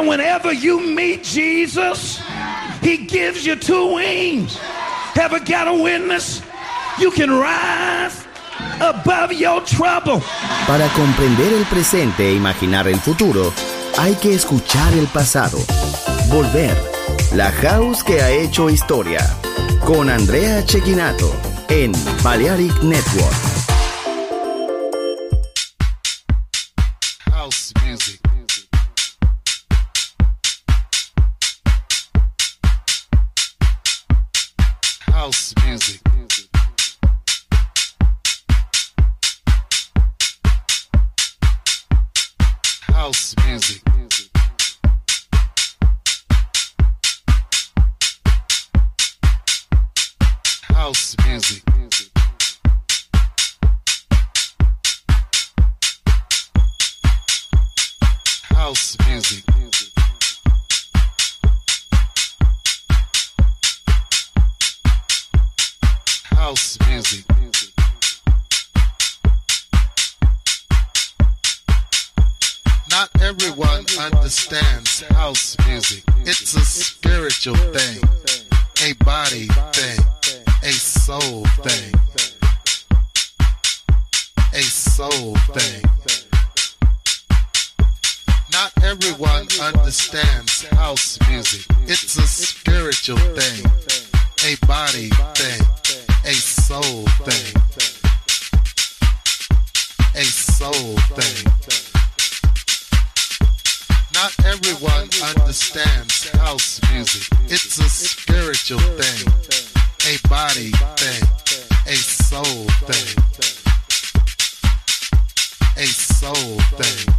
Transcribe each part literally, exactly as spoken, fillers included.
And whenever you meet Jesus, he gives you two wings. Ever got a witness? You can rise above your trouble. Para comprender el presente e imaginar el futuro, hay que escuchar el pasado. Volver. La House que ha hecho historia. Con Andrea Cecchinato en Balearic Network. House music. House music. House music. House music. House music. House music. Not everyone understands house music. It's a spiritual thing, a body thing, a soul thing, a soul thing. Not everyone understands house music. It's a spiritual thing, a body thing, a soul thing, a soul thing. Not everyone understands house music. It's a spiritual thing, a body thing, a soul thing, a soul thing.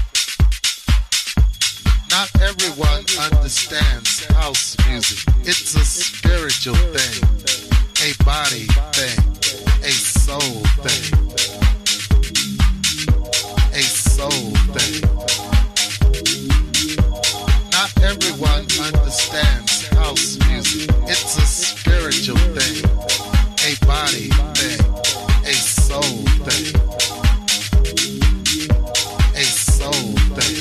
Not everyone understands house music. It's a spiritual thing, a body thing, a soul thing, a soul thing. Not everyone understands house music. It's a spiritual thing, a body thing, a soul thing, a soul thing.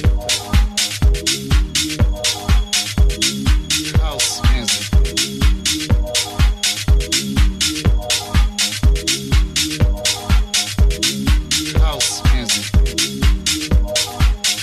House music. House music.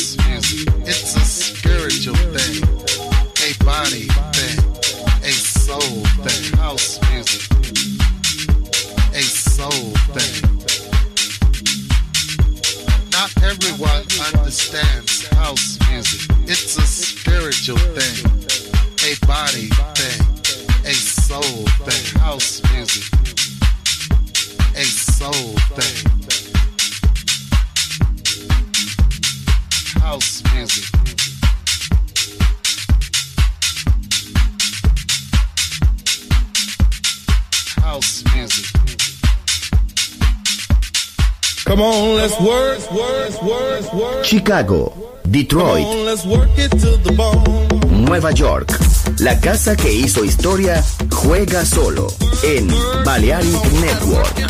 house music. It's a spiritual thing, a body thing, a soul thing. House music, a soul thing. Not everyone understands house music. It's a spiritual thing, a body thing, a soul thing. House music, a soul thing. House music. House music. Come on, let's work, work, work, work. Chicago, Detroit, Come on, let's work it to the bone. Nueva York. La casa que hizo historia juega solo en Balearic Network.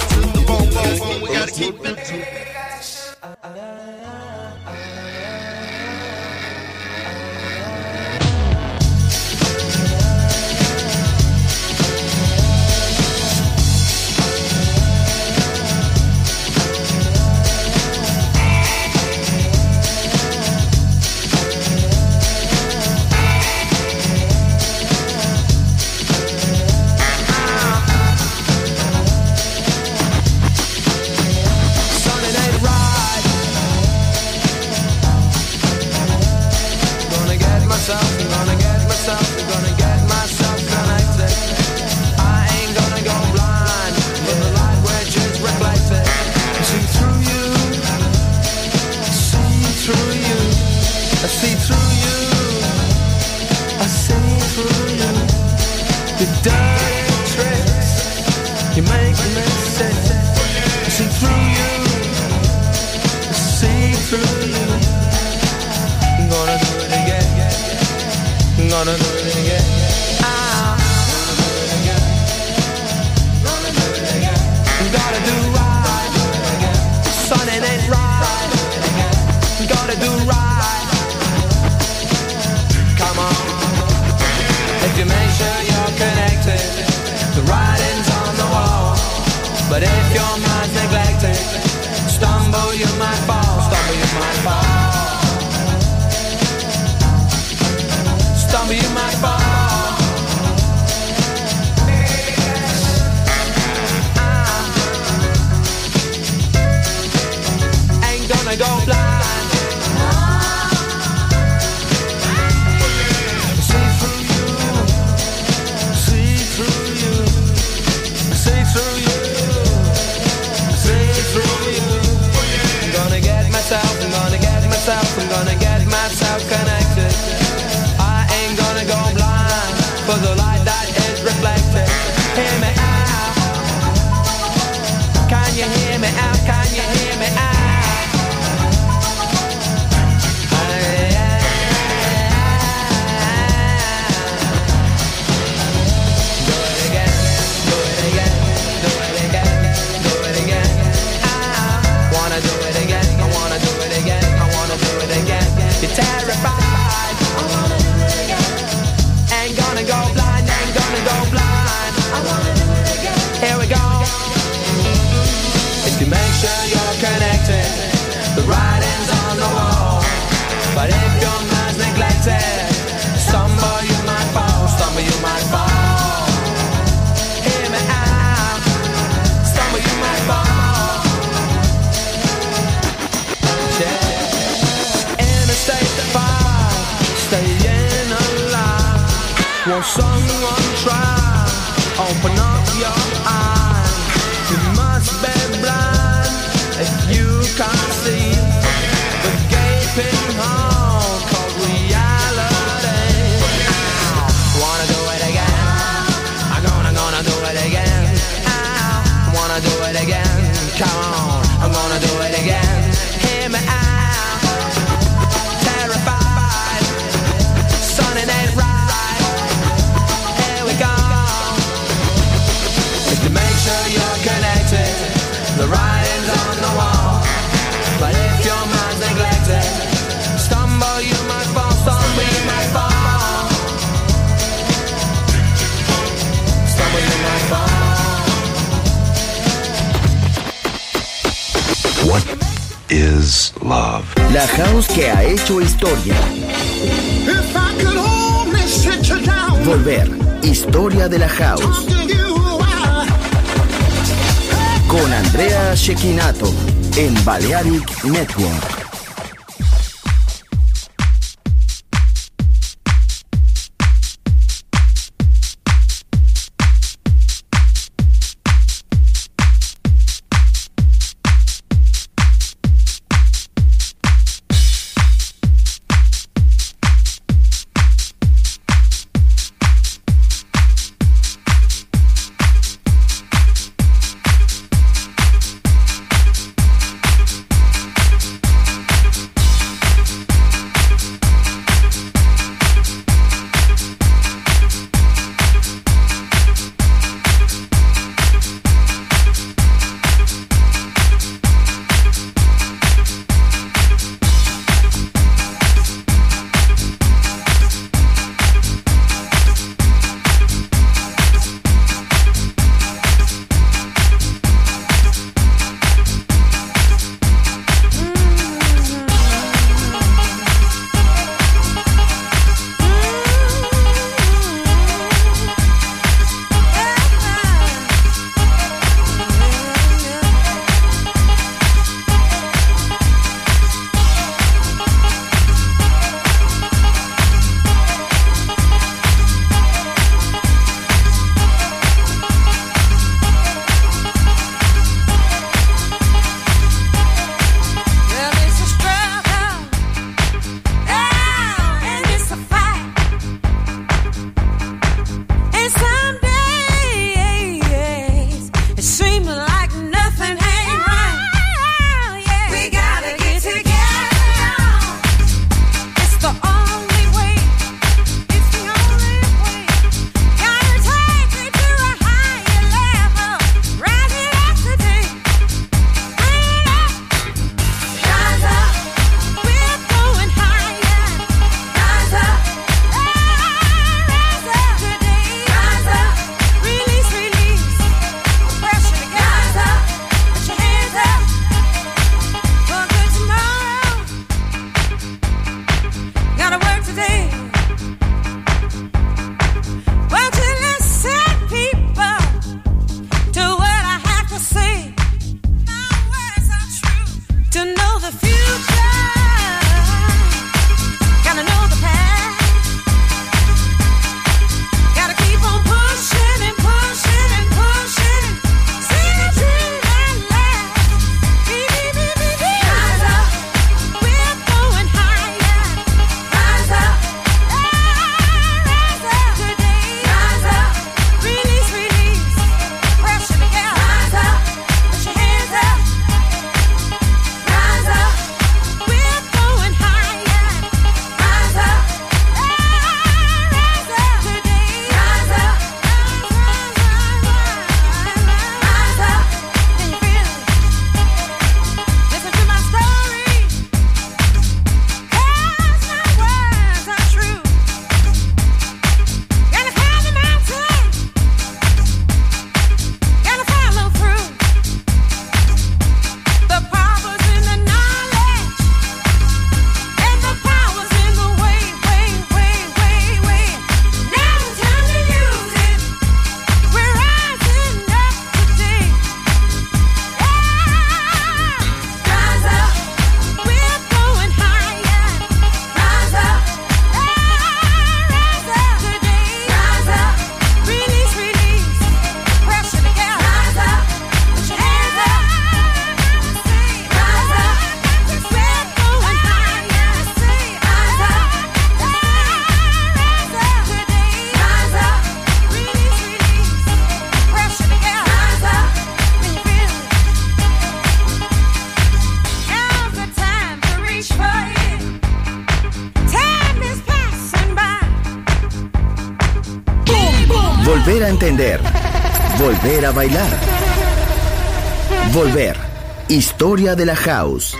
What is love? La house que ha hecho historia. Volver, historia de la house. Con Andrea Cecchinato en Balearic Network. Volver a entender. Volver a bailar. Volver. Historia de la house.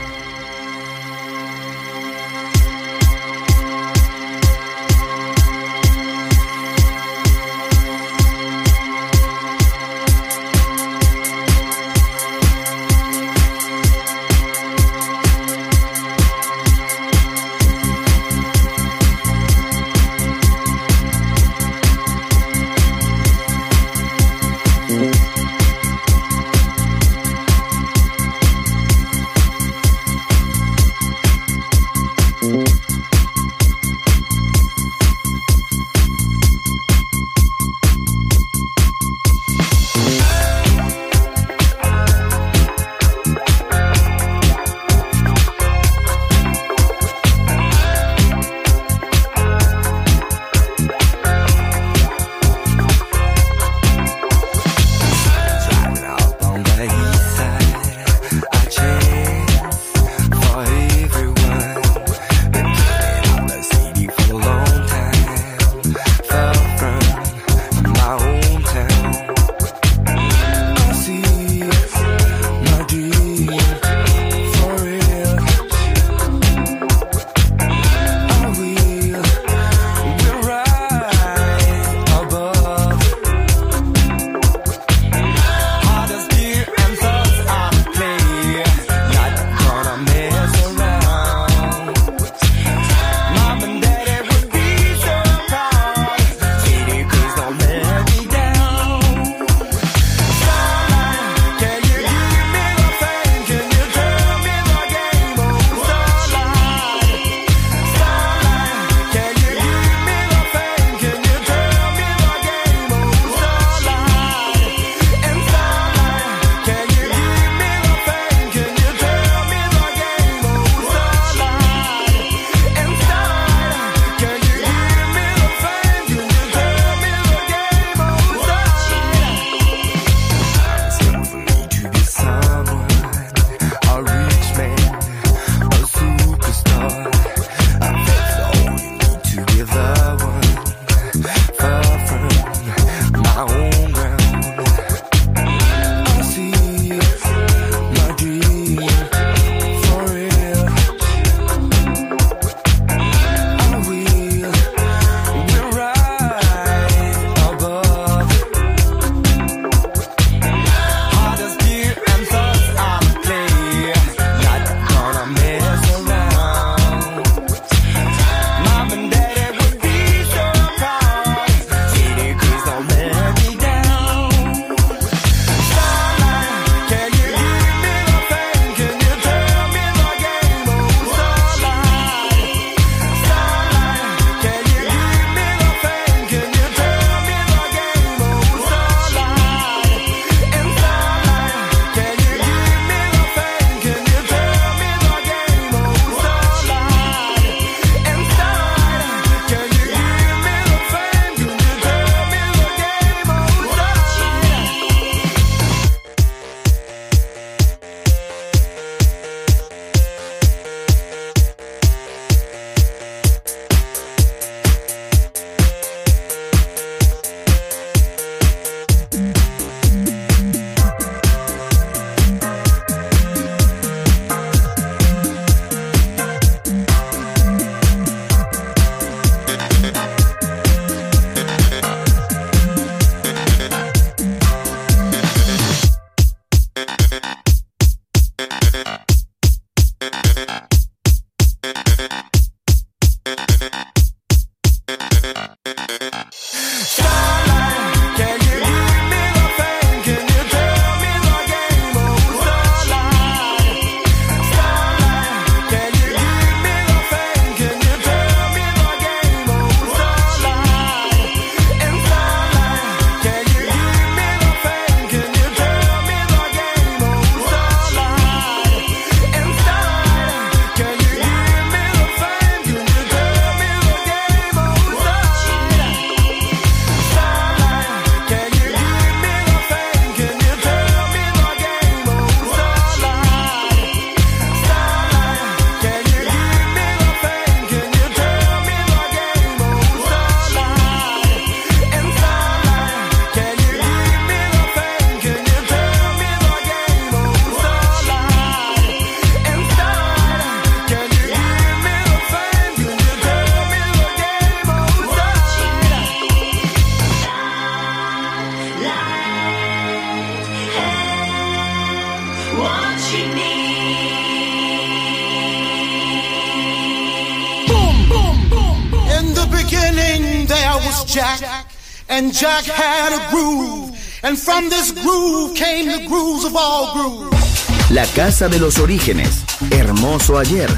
Jack, and Jack had a groove, and from this groove came the grooves of all grooves. La casa de los orígenes, hermoso ayer,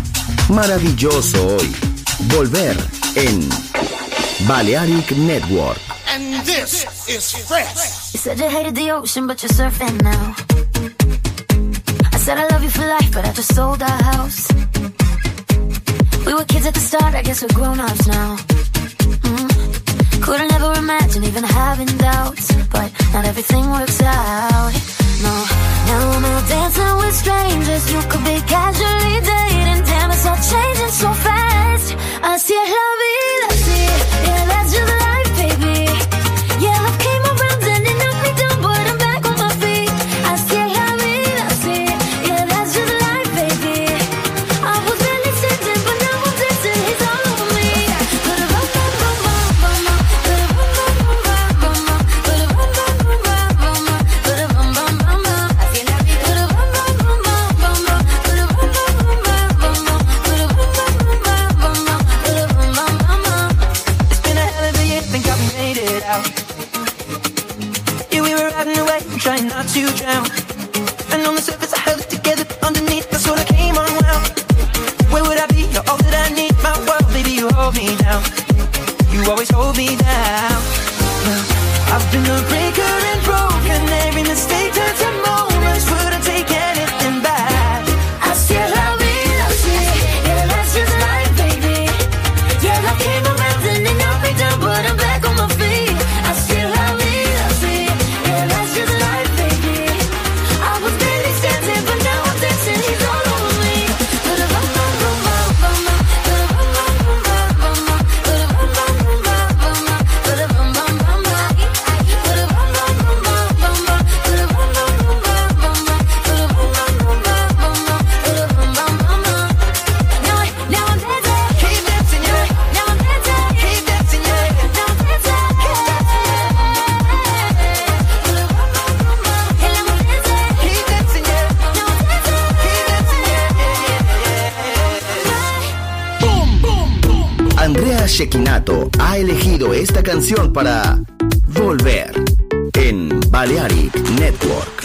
Maravilloso hoy. Volver en Balearic Network. And this is fresh. You said you hated the ocean, but you're surfing now. I said I love you for life, but I just sold our house. We were kids at the start, I guess we're grown-ups now. Mm. Couldn't ever imagine even having doubts, but not everything works out. No, now I'm out dancing with strangers. You could be casually dating. Damn, it's all changing so fast. Así es la vida, sí. Yeah, that's just life, baby. Yeah, love came around and it knocked me down, but I'm back on my feet. Así es la vida, sí. Yeah, that's just life, baby. I was barely sitting, but now I'm dancing. He's all over me. Put a bum bum bum bum bum, put a bum bum bum bum bum, put a bum bum bum bum bum, put a bum bum bum bum. Así es la vida. Put a bum bum bum bum bum bum, put a bum bum bum bum bum, put a bum bum bum bum bum, put a bum bum bum bum. It's been a hell of a year, think I've made it out. Yeah, we were riding away, trying not to drown. And on the surface I held it together, underneath that's what I came unwound. Where would I be? You're all that I need, my world, baby, you hold me down. You always hold me down. Now, I've been a breaker and broken, every mistake turns to moments, wouldn't take anything back. Así es la vida, sí, yeah, that's just life, baby. Yeah, love came around and it knocked me down, but I'm back on my feet. Así es la vida, sí, yeah, that's just life, baby. I was barely standing, but now I'm dancing, he's all over me. Put a bum bum bum bum bum, put a bum bum bum bum bum, put a bum bum bum bum bum, put a bum bum bum bum, put a bum bum bum bum bum, put a bum bum bum bum bum, put a bum bum bum bum bum, put a bum bum bum bum. Now I, now I'm dancing, keep dancing, yeah. Now I'm dancing, keep dancing, yeah. Now I'm dancing, keep dancing, yeah. Put a bum bum bum bum, and now I'm dancing, keep dancing, yeah. Now I'm dancing, keep dancing, yeah. Boom, boom, boom. Andrea Cecchinato ha elegido esta canción para Volver en Balearic Network.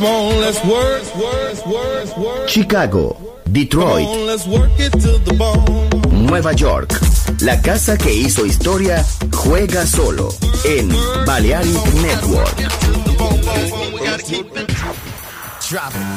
on, let's work, work, work, work. Chicago, Detroit, Come on, let's work it to the bone. Nueva York. La casa que hizo historia juega solo en Balearic Network. Drop it.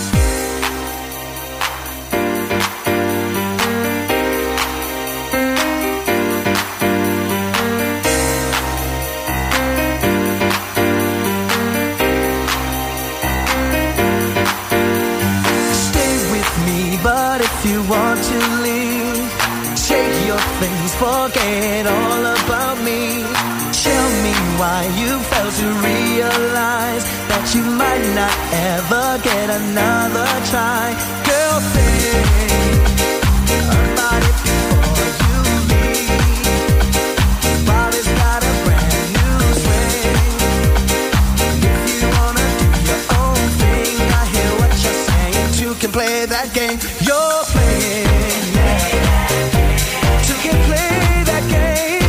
But if you want to leave, take your things, forget all about me. Tell me why you failed to realize that you might not ever get another try. Girl, think about it before you leave. Body's got a brand new swing. If you wanna do your own thing, I hear what you're saying. Two can play that game you're playing, yeah. Two can play that game,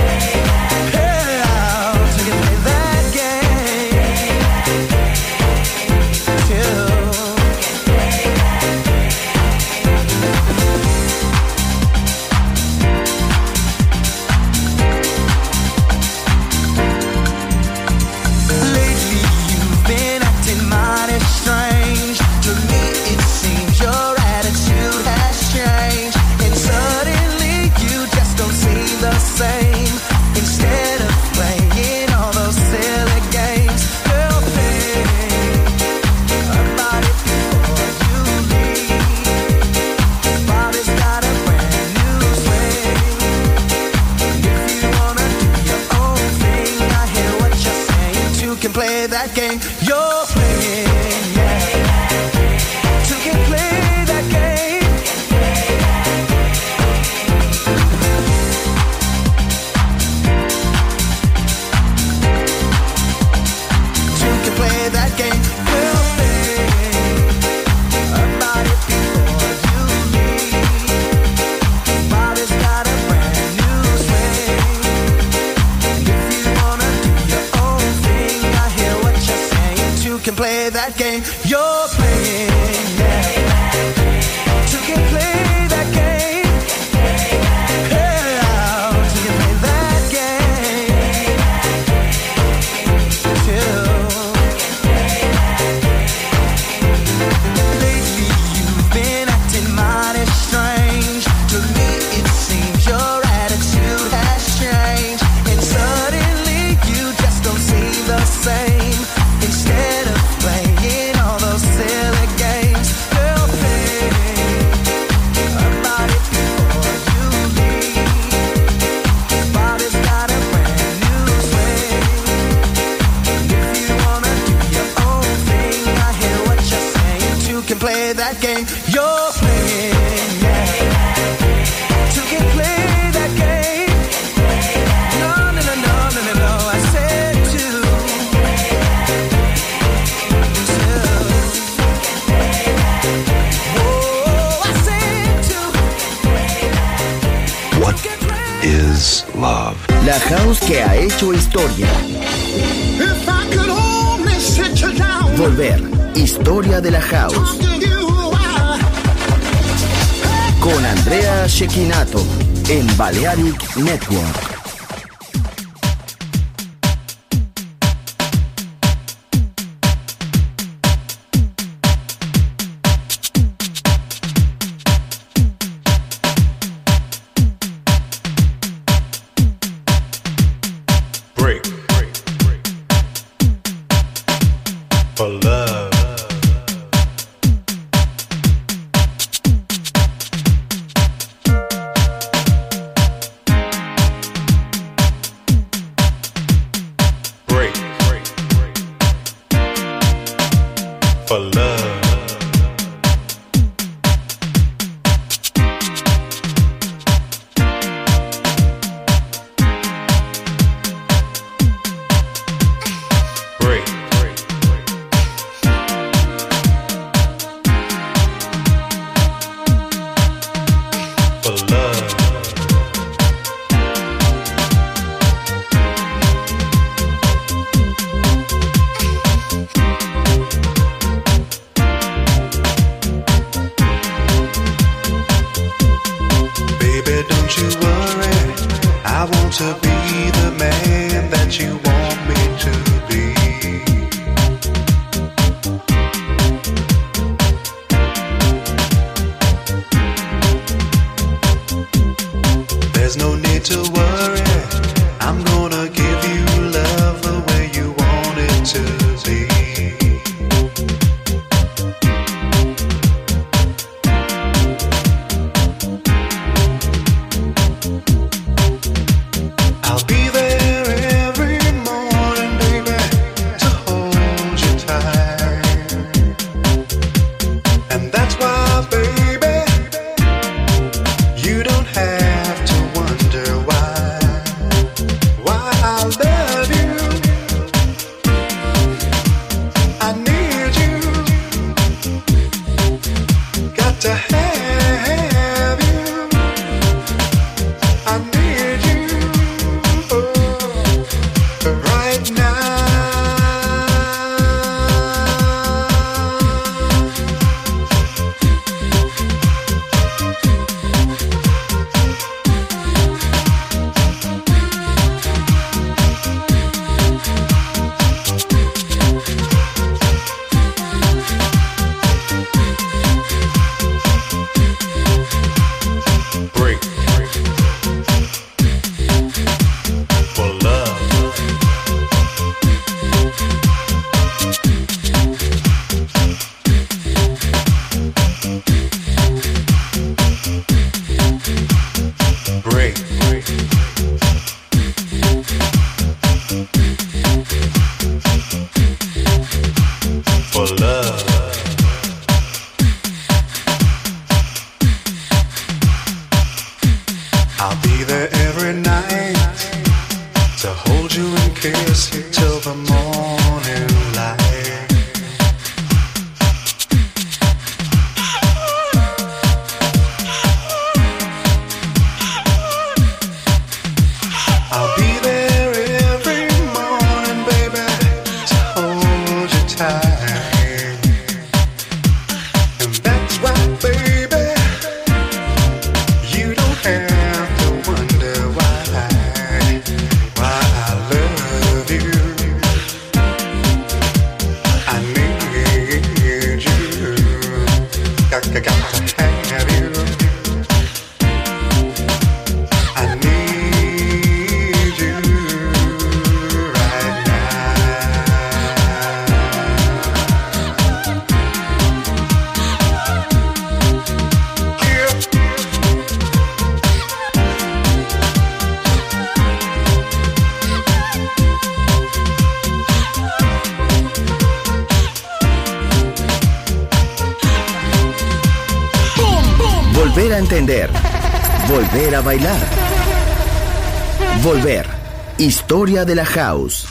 yeah. Two can play that game, too. Lately you've been acting mighty strange. To me it seems your attitude has changed, and suddenly you just don't seem the same. Instead of playing all those silly games, girl, think about it before you leave. Body's got a brand new swing. If you wanna do your own thing, I hear what you're saying. Two can play that game you're playing, yeah. Two can play that game. Two can play that game. We'll think about it before you leave. Body's got a brand new swing. If you wanna do your own thing, I hear what you're saying. Two can play that game you're playing, yeah. Two can play that game, yeah. Two can play that game, too. Lately you've been acting mighty strange. To me it seems your attitude has changed, and suddenly you just don't seem the same. Instead of playing all those silly games, girl, think about it before you leave. Body's got a brand new swing. If you wanna do your own thing, I hear what you're saying. Two can play that game you're playing, yeah. Two can play that game. No, no, no, no, no, no, no. I said two. What is love? La house que ha hecho historia. If I could only sit you down, Volver. Historia de la house. talk to you, I, Con Andrea Cecchinato en Balearic Network. Break. For love. Break. For love. Break. For love. to be the man that you want me to be. There's no need to worry, I'm gonna give you love the way you want it to be. I'll be there every morning, baby, to hold you tight. And that's why, baby, you don't have to wonder why, why I love you. I need you, got to have you. I need you oh, right now. Break for love. Break. For love. I'll be there every night to hold you and kiss you till the morning light. I'll be there every morning, baby, to hold you tight. And that's right, baby, you don't have to wonder why, why I love you. I need you, got, got, got to have you. I need you right now. Yeah. Volver a entender. Volver a bailar. Volver. Historia de la house.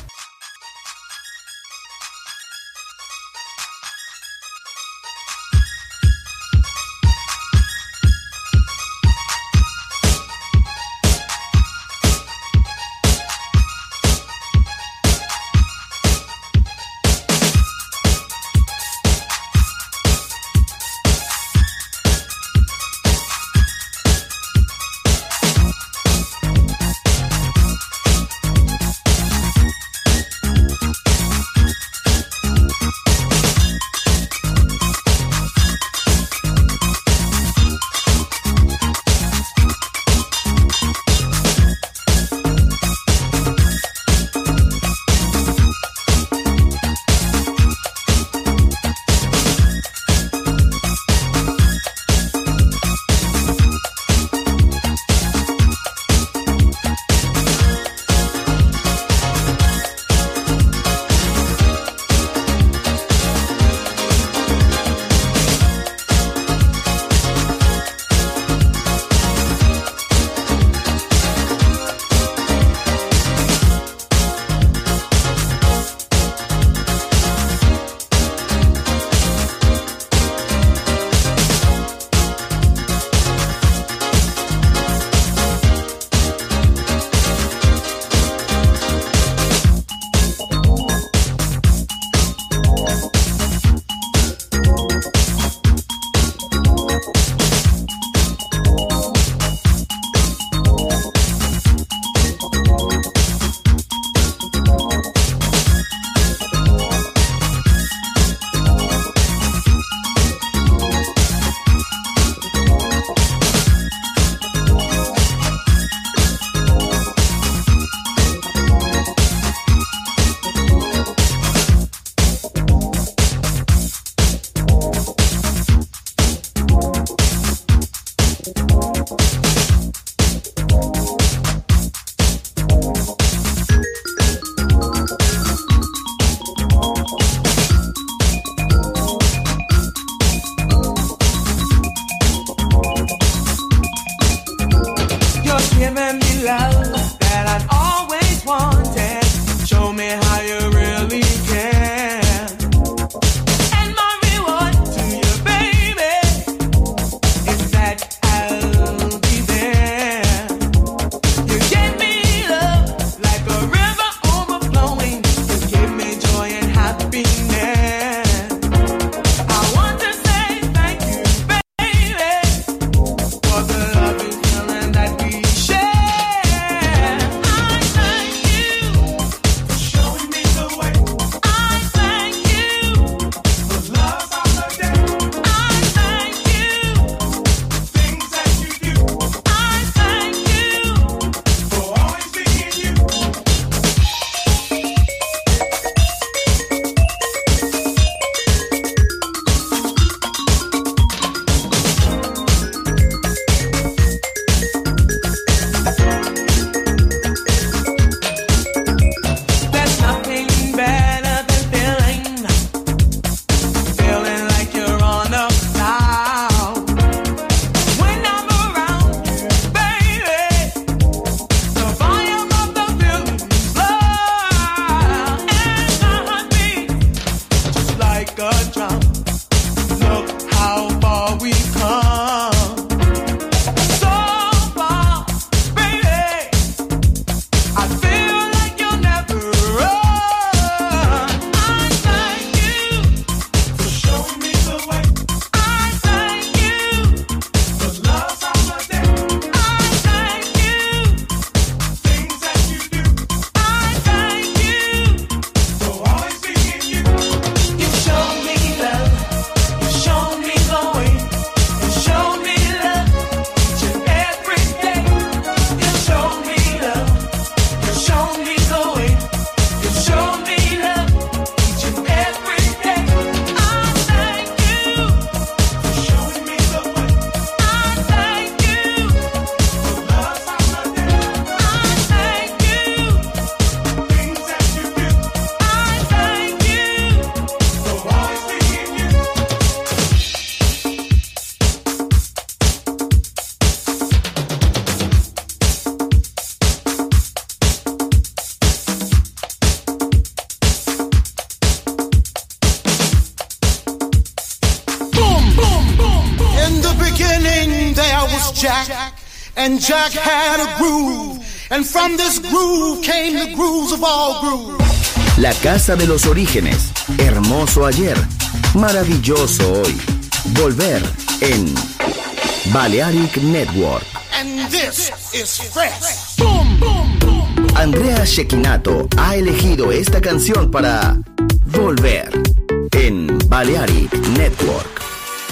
Jack, and Jack had a groove, and from this groove came the grooves of all grooves. La casa de los orígenes, hermoso ayer, maravilloso hoy. Volver en Balearic Network. And this is fresh. Boom, boom, boom. Andrea Cecchinato ha elegido esta canción para Volver en Balearic Network.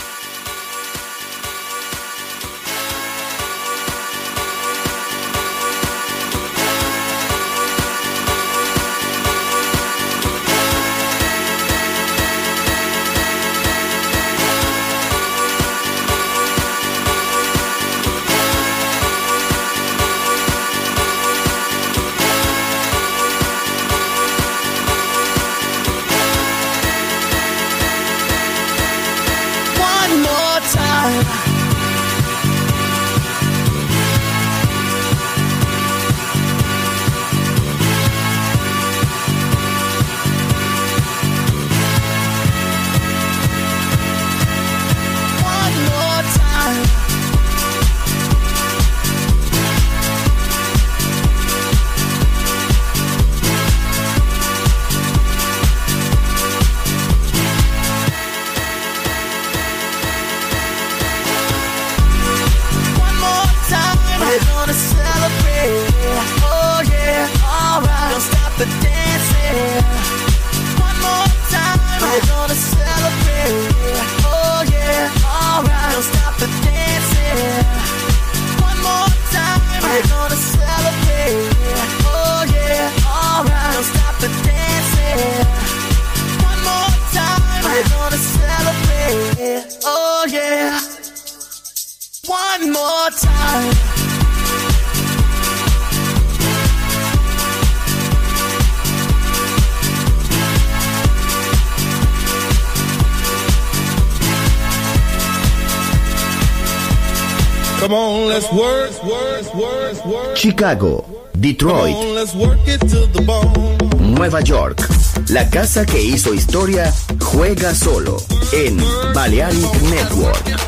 Come on, let's work, work, work, work. Chicago, Detroit, Come on, let's work it to the bone. Nueva York. La casa que hizo historia juega solo en Balearic Network.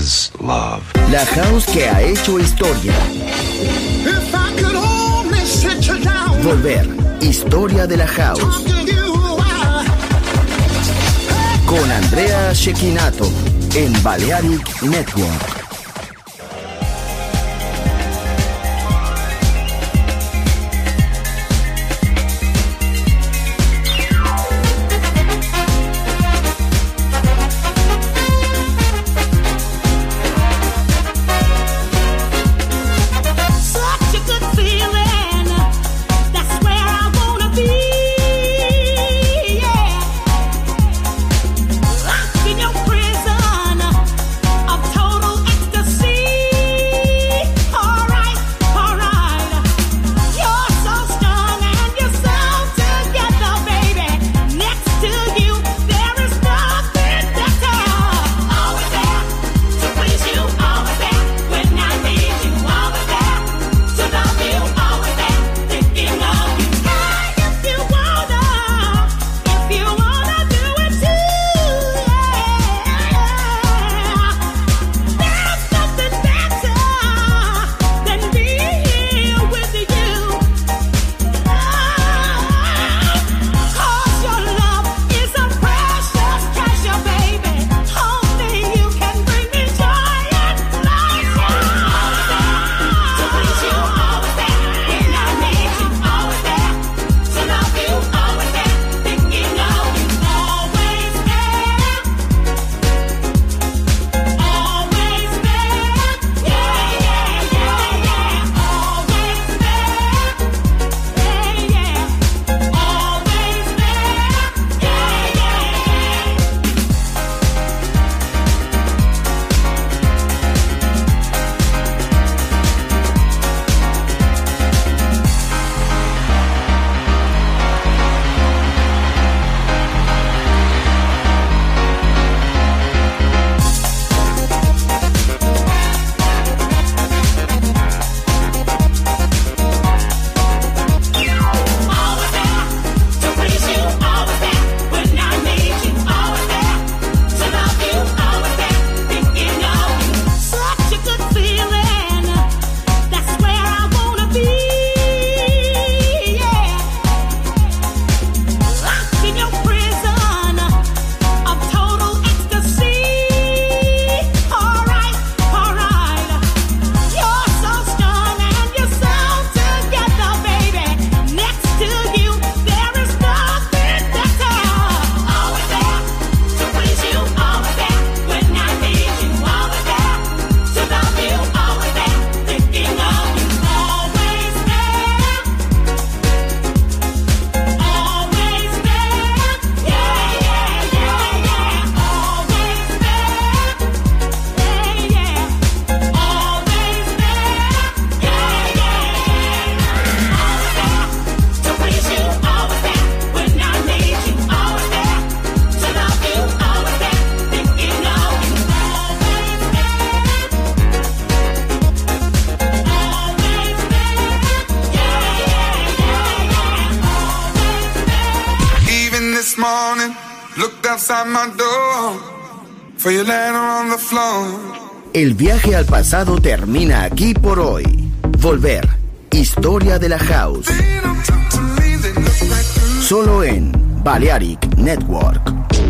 is love. La house que ha hecho historia. If I could only sit you down. Volver, historia de la house. Con Andrea Cecchinato en Balearic Network. El viaje al pasado termina aquí por hoy. Volver, historia de la house. Solo en Balearic Network.